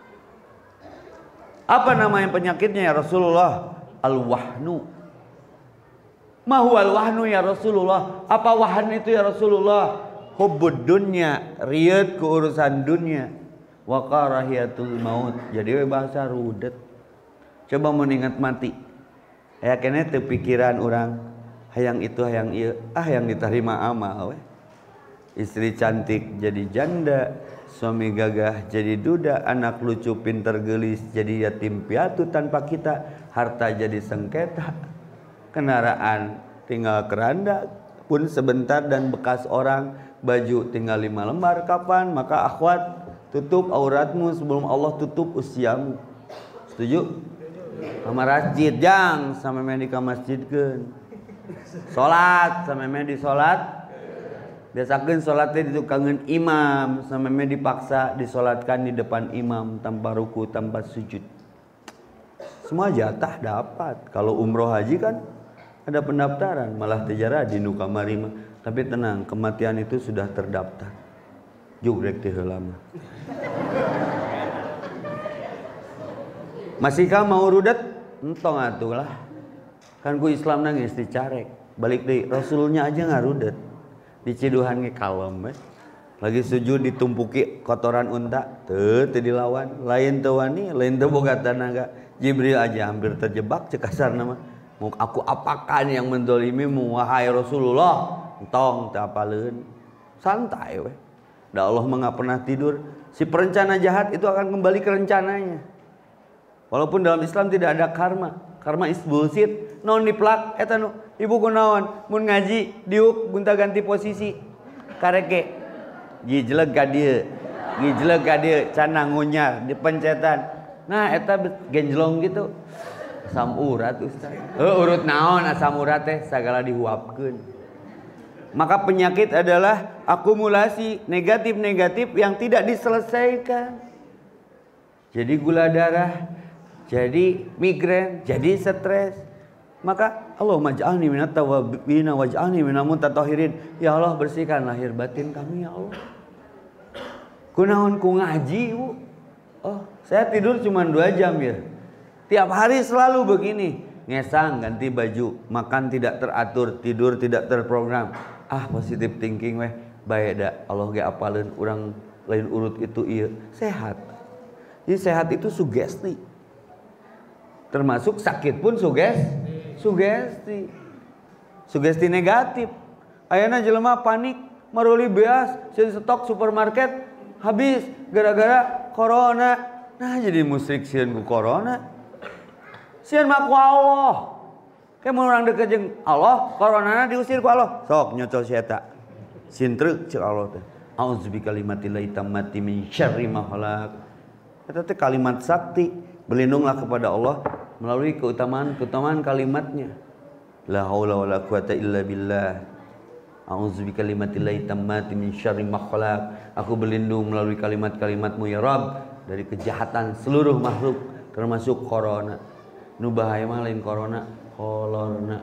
Apa namanya penyakitnya ya Rasulullah? Al-wahnu. Ma huwa al-wahnu ya Rasulullah? Apa wahn itu ya Rasulullah? Hubbud dunya, riut ke urusan dunia. Wa karahiyatul maut. Jadi bahasa rudet. Coba mengingat mati. Ya kene teu pikiran orang hayang itu hayang ieu, yang diterima amal we. Istri cantik jadi janda, suami gagah jadi duda, anak lucu pinter gelis jadi yatim piatu tanpa kita, harta jadi sengketa, kendaraan tinggal keranda pun sebentar dan bekas orang, baju tinggal 5 lembar. Kapan? Maka akhwat, tutup auratmu sebelum Allah tutup usiamu. Setuju? Kamar masjid jang sampai main di kamar masjid kan. Salat sampai main di salat. Biasakeun salatnya ditukangkeun imam sampai main dipaksa disolatkan di depan imam tanpa ruku, tanpa sujud. Semua jatah dapat. Kalau umroh haji kan ada pendaftaran, malah tejara di nu kamari mah. Tapi tenang, kematian itu sudah terdaftar. Jugrek teh heula mah. Masihkah mau rudet? Entong atuh lah. Kan ku Islam nangis dicarek. Balik deui, Rasulnya aja ngarudet. Diciduhan ge kalem we. Lagi sujud ditumpuki kotoran unta, teu dilawan. Lain teu wani, lain teu boga tenaga. Jibril aja hampir terjebak cek kasarna mah. Mau aku apakan yang mendolimimu wahai Rasulullah? Entong teu apaleun. Santai we. Da Allah mah enggak pernah tidur. Si perencana jahat itu akan kembali ke rencananya. Walaupun dalam Islam tidak ada karma. Karma is bullshit. Non diplak eta nu ibu kunaon mun ngaji diuk gunta ganti posisi. Kareke gijleg ka dieu. Gijleg ka dieu can ngunyar dipencetan. Nah eta genjlong gitu. Asam urat Ustaz. Urut naon asam urat teh sagala dihuapkeun. Maka penyakit adalah akumulasi negatif-negatif yang tidak diselesaikan. Jadi gula darah, jadi migrain, jadi stres. Maka Allahumma ij'alni minat tawwabin waj'alni minal mutatahhirin. Ya Allah, bersihkan lahir batin kami ya Allah. Kunaon ku ngaji, Bu? Oh, saya tidur cuma 2 jam ya. Tiap hari selalu begini. Ngesang, ganti baju, makan tidak teratur, tidur tidak terprogram. Positive thinking weh. Bae da Allah ge apaleun urang lain urut itu ieu. Sehat. Jadi sehat itu sugesti. Termasuk sakit pun sugesti. Sugesti negatif. Ayeuna jelema panik, maruli beas, sieun stok supermarket habis gara-gara corona. Nah jadi musyrik sieun ku corona. Sieun mah ku Allah. Kayak mun urang deket jeung Allah, coronana diusir ku Allah. Sok nyocol si eta. Sintrek ceu Allah teh. Auzubi kalimatillahi tammati min syarri ma khalaq. Eta teh kalimat sakti. Berlindunglah kepada Allah melalui keutamaan kalimatnya. La haula wala quwata illa billah. A'udzu bikalimatillahi tammati min syarri ma khalaq. Aku berlindung melalui kalimat-kalimatmu ya Rabb dari kejahatan seluruh makhluk termasuk corona. Nu bahaya mah lain corona, kolorna.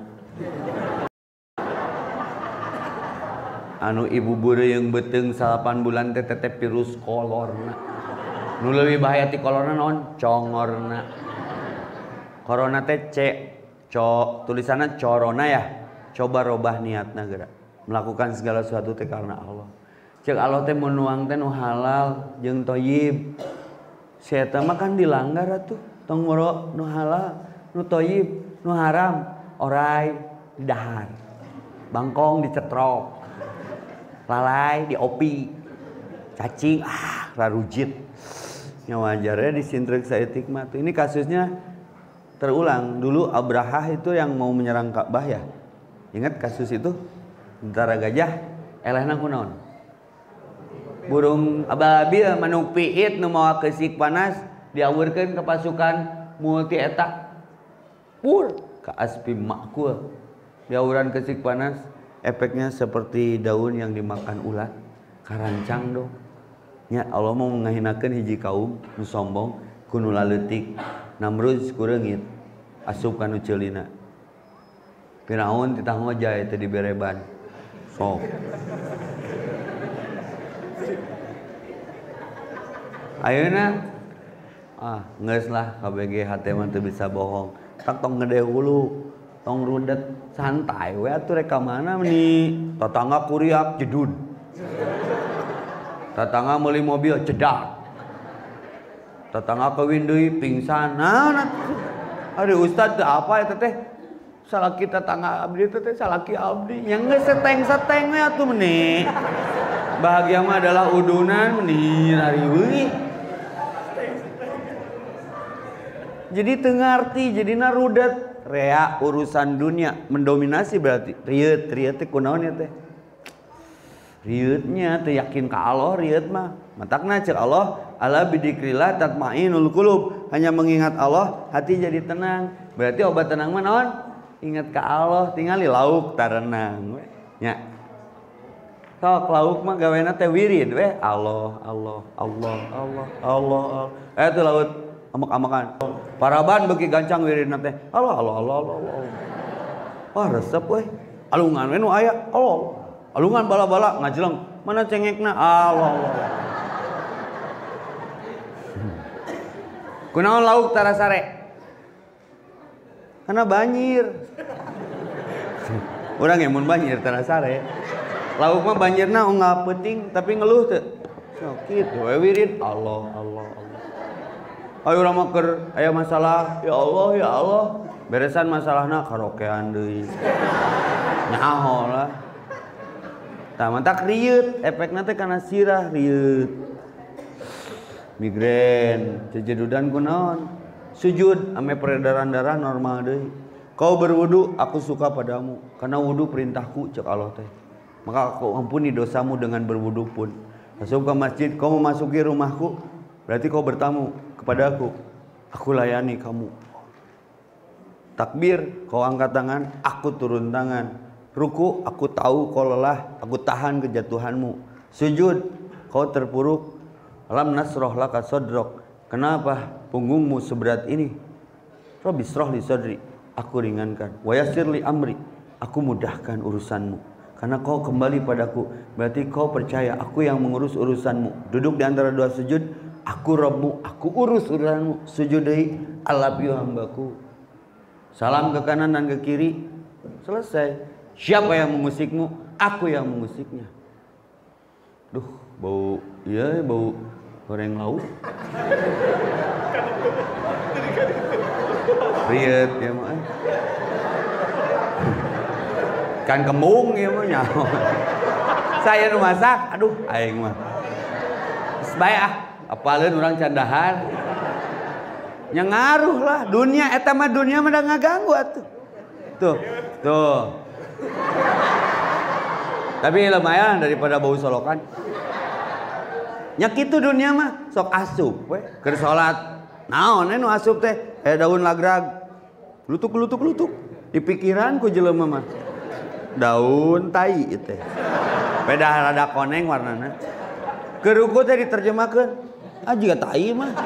Anu ibu beureung beuteung 8 bulan teh tetep virus kolorna. Nu leuwih bahaya ti kolorna naon? Congorna. Corona teh tulisanna corona ya. Coba robah niatna geura. Melakukan segala sesuatu teh karena Allah. Cek Allah teh mun nuang teh nu halal jeung thayyib. Si eta mah kan dilanggar atuh. Tong ngoro nu halal, nu thayyib, nu haram, orai didahar. Bangkong dicetrok. Lalai diopi. Cacing rarujit. Nya wajarnya disintrek saeutik mah. Ini kasusnya terulang. Dulu Abrahah itu yang mau menyerang Ka'bah ya. Ingat kasus itu? Tentara gajah elehna kunaon? Burung ababil manuk piit nu mawa keusik panas diawurkeun ke pasukan multi eta. Pur ka aspi ma'kul. Jauran kesik panas, efeknya seperti daun yang dimakan ulat. Karancang dong. Ya Allah mau ngahinakeun hiji kaum nu sombong, kudu laleutik. Namrud kureungit asup ka nu ceulina. Firaun titah ngojay teu dibereban. Sok. Ayeuna geus lah KBG hate mah teu bisa bohong. Tak tong gede hulu, tong rudet santai we atuh rek ka mana nih. Tatangga kuriak jedud. Tatangga meuli mobil cedak. Tatangga kawin deui pingsan. Nah, aduh ustad teh apa eta teh? Salaki tetangga abdi teh salaki abdi. Yang geus seteng-seteng we atuh meuni. Bahagia mah adalah udunan meuni hari weui. Jadi teu ngarti, jadina rudet. Rea urusan dunia mendominasi berarti. Rieut teh kunaon ya teh? Rieutnya teu yakin ka Allah rieut mah. Matakna cek Allah, ala bidzikrillah tatmainul qulub. Hanya mengingat Allah, hati jadi tenang. Berarti obat tenang mah naon? Ingat ka Allah, tingali lauk tarenang we. Nya. Sok lauk mah gawena teh wirid we. Allah, Allah, Allah, Allah, Allah, Allah. Eta laut amak-amakan. Paraban beuki gancang wiridna teh. Allah, Allah, Allah, Allah, Allah. Wah, resep we. Alungan we nu aya. Allah. Alungan bala-bala ngajeleng. Mana cengekna? Allah, Allah. Kunaon lauk tarasare? Karena banjir. Urang yang mun banjir tarasare. Lauk mah banjirna ongah peuting tapi ngeluh teu. Sok kitu we wirid Allah, Allah, Allah. Ayo urang mah keur aya masalah, ya Allah, ya Allah. Beresan masalahna karaokean deui. Nyaho lah. Tah mantak rieut, efekna teh kana sirah rieut. Migrain, cejedudan kunaon? Sujud ame peredaran darah normal deui. Kau berwudu, aku suka padamu karena wudu perintahku cek Allah teh. Maka aku ampuni dosamu dengan berwudu pun. Masuk ke masjid, kau memasuki rumahku, berarti kau bertamu kepada aku. Aku layani kamu. Takbir, kau angkat tangan, aku turun tangan. Ruku, aku tahu kau lelah, aku tahan kejatuhanmu. Sujud, kau terpuruk. Alam nasroh laka sodrok. Kenapa punggungmu seberat ini? Rabbi sroh li sodri. Aku ringankan. Wa yassir li amri. Aku mudahkan urusanmu. Karena kau kembali padaku. Berarti kau percaya aku yang mengurus urusanmu. Duduk di antara dua sujud. Aku Rabbmu. Aku urus urusanmu. Sujud deui. Alabiu hambaku. Salam ke kanan dan ke kiri. Selesai. Siapa yang memusikmu? Aku yang memusiknya. Duh, bau. Iya, bau goreng lauk. Riet ya mah. Kan kembung ya mah nyaho. Saya nu masak, aduh aing mah. Geus bae apaleun urang candahan. Nya ngaruh lah dunia eta mah dunia mah da ngaganggu atuh. Tuh. Tapi lumayan daripada bau solokan. Nya kitu dunia mah sok asup we keur salat. Naon nu asup teh? Daun lagrag. Lutuk. Di pikiran ku jelema mah. Daun tai teh. Beda rada koneng warnana. Keur ruku teh diterjemahkeun. Jiga tai mah.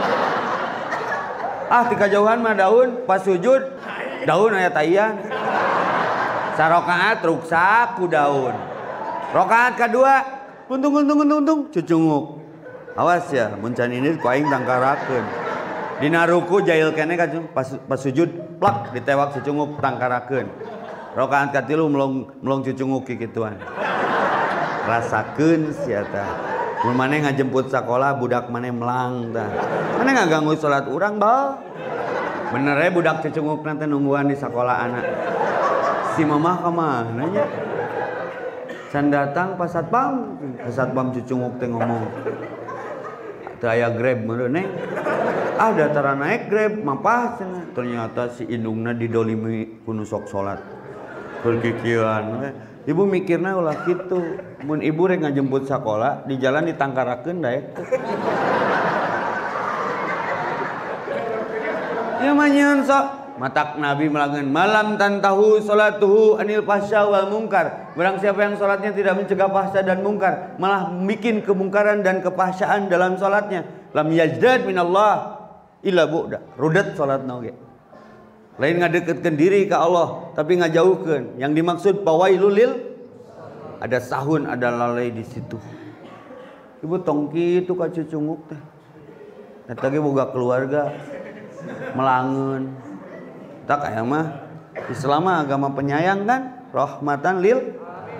Ti kajauhan mah daun, pas sujud daun aya taian. Sarokaat ruksak ku daun. Rokaat kadua untung cucunguk. Awas ya, mun can ini ku aing tangkarakeun. Dina ruku jail kene ka pas sujud plak ditewak cucunguk tangkarakeun. Rakaat katilu melong cucunguk kikituan. Rasakeun sia tah. Mun maneh ngajemput sakola budak maneh melang tah. Maneh ngaganggu salat urang bae. Bener ya budak cucunguk nanti nungguan di sekolah anak. Si mamah kemana nya? Can datang pas satpam cucunguk teh ngomong. Teu aya Grab meureun neng. Datara naik Grab mapah cenah. Ternyata si indungna didolimi ku nu sok salat. Berkikiran we. Ibu mikirna ulah kitu. Mun ibu rek ngajemput sakola di jalan ditangkarakeun daek teh. Ya mah nyeun sok Matak Nabi melangen malam tantahu salatuhu anil fahsya wal mungkar. Barang siapa yang salatnya tidak mencegah fahsya dan mungkar, malah bikin kemungkaran dan kefahsyaan dalam salatnya, lam yajdad minallah illa bu'da. Rudat salatna oge. Lain ngadeketkeun diri ke Allah, tapi ngajauhkeun. Yang dimaksud pawailul lil, ada sahun, ada lalai di situ. Ibu tong kitu ka cucunguk teh. Eta ge boga keluarga melangeun. Tak kayak mah Islam agama penyayang kan, rahmatan lil.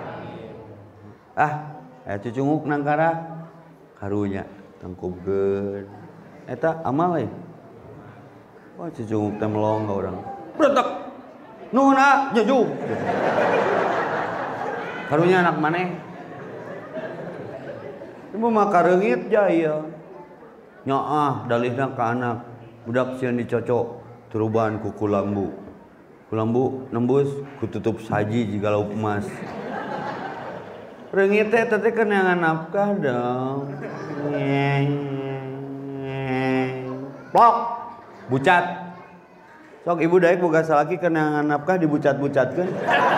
Cucunguk nangkara karunya tangkubkeun. Eta amal we. Oh cucunguk teh melong ka urang. Bretek. Nuhun jujug. Karunya anak maneh. Ibu mah kareungit jaya. Nyaah dalihna ka anak. Budak sieun dicocok teruban ku kulambu. Kulambu nembus ku tutup saji jika lauk emas. Reungit teh teh kena nafkah dong. Plok bucat. Sok ibu daek boga salaki kena nafkah dibucat-bucatkeun.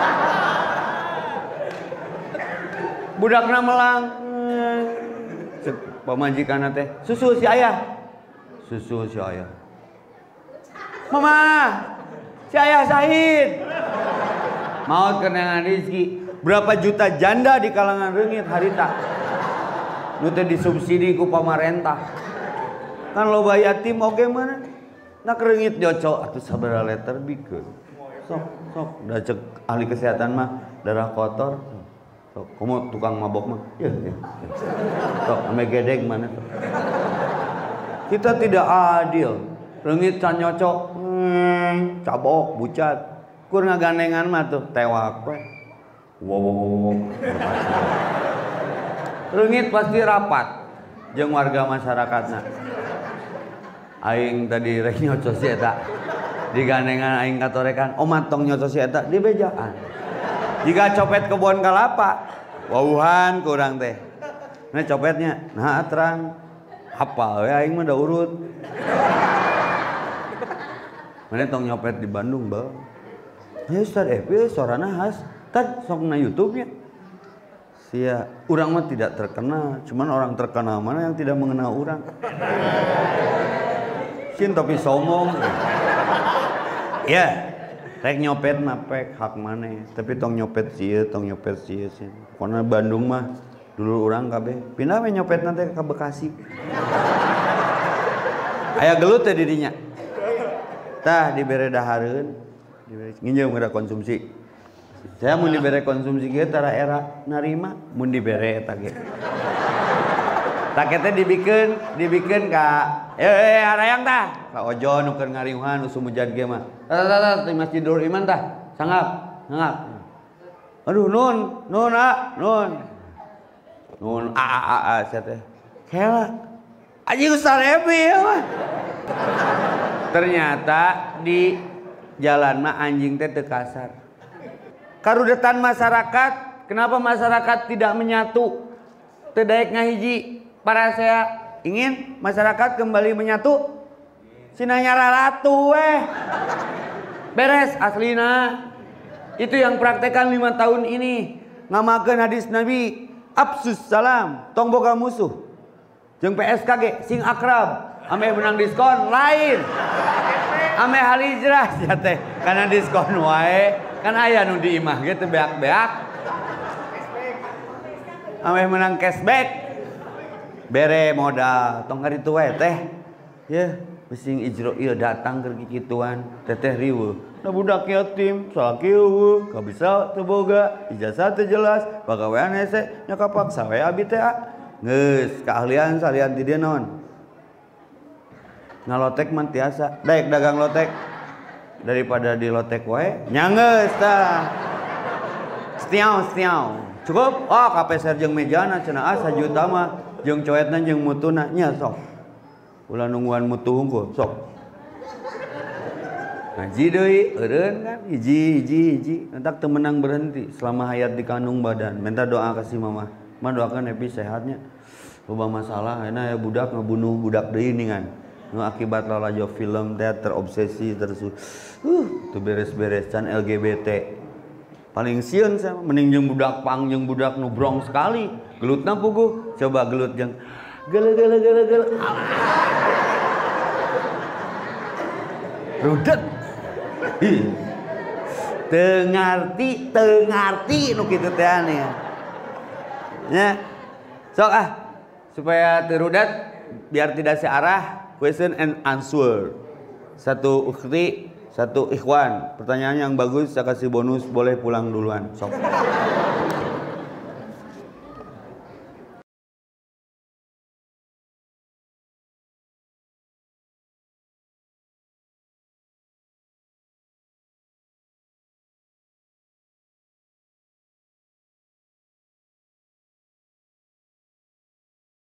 Budakna melang. Cek pamajikanna teh, susu si ayah. Susu si ayah. Mama, si ayah syahid. Maut kenangan rezeki. Berapa juta janda di kalangan reungit harita. Nu teh disubsidi ku pamarentah. Kan loba yatim oge mana? Nak reungit jocok atuh sabaraha liter bikeun. Sok da cek ahli kesehatan mah darah kotor. Sok komo tukang mabok mah. Ya. Sok ame gedeg mana tuh. Kita tidak adil. Reungit can nyocok, cabok, bucat. Kur ngagandengan mah tuh tewak we. Wow. Reungit pasti rapat jeung warga masyarakatna. Aing tadi rek nyocos si eta. Digandengan aing katorekan, omat tong nyocos si eta di bejaan. Jika copet kebun kalapa, wauhan kurang teh. Nah copetnya, nah terang. Hafal we aing mah da urut. Mana tong nyopet di Bandung, Bang. Ya Ustaz Epi sorana khas. Tad sok na YouTube-nya. Sia, urang mah tidak terkenal, cuman orang terkenal mana yang tidak mengenal urang. Sin tapi sombong. Ya, rek nyopet mah pek hak maneh, tapi tong nyopet sieun, tong nyopet sieun. Pokona Bandung mah dulu urang kabeh. Pindah we nyopet nanti ke Bekasi. Aya gelut teh di dinya. Tah dibere dahareun, dibere nginjeum kada konsumsi. Saya mun dibere konsumsi ge tara era narima, mun dibere eta ge. Tak teh dibikeun ka harayang tah. Ka ojo nu keur ngariuhan nu sumujan ge mah. Tah di Masjid Nurul Iman tah. Sangap. Aduh nun sia teh. Kela. Aji Ustaz Epi mah. Ternyata di jalan mah anjing teh teu kasar. Karudetan masyarakat, kenapa masyarakat tidak menyatu? Teu daek ngahiji. Para saya ingin masyarakat kembali menyatu. Cenah nyararatu weh. Beres aslina. Itu yang praktekan 5 tahun ini. Ngamakeun hadis Nabi, Absus salam, tong boga musuh. Jeung PSKG sing akrab. Ame menang diskon lain. Ame halijrah sia teh kana diskon wae. Kan aya nu di imah ge teh beak-beak. Ame menang cashback. Bere modal tong kaditu wae teh. Yeuh, bising Ijroil datang keur kikituan, teteh riweuh. Da budak yatim, salaki eueuh, ka bisa teu boga, ijazah teu jelas, pagawean hese nya kapaksa we abi teh. Geus, keahlian salian ti dieu naon? Ngalotek mah tiasa, daek dagang lotek. Daripada di lotek wae, nyangeus tah. Stiau. Cukup? Oh, kapeser jeung mejana cenah 1 juta mah jeung coetna jeung mutuna nya sok. Ulah nungguan mutu hungkul, sok. Ngaji deui, eureun kan hiji. Entak teu menang berhenti selama hayat di kandung badan. Minta doa ka si mama. Mah doakan Epi sehatnya. Loba masalah, ayeuna aya budak ngabunuh budak deui ningan. nu akibat lalajo film teh terobsesi terus tuh beres-beres can LGBT paling sieun saya mending jeung budak pang jeung budak nu brong sekali gelutna puguh coba gelut jeung gele rudet tengarti nu kitu teh ane ya sok supaya terudat biar tidak searah question and answer satu ukhti satu ikhwan pertanyaan yang bagus saya kasih bonus boleh pulang duluan sok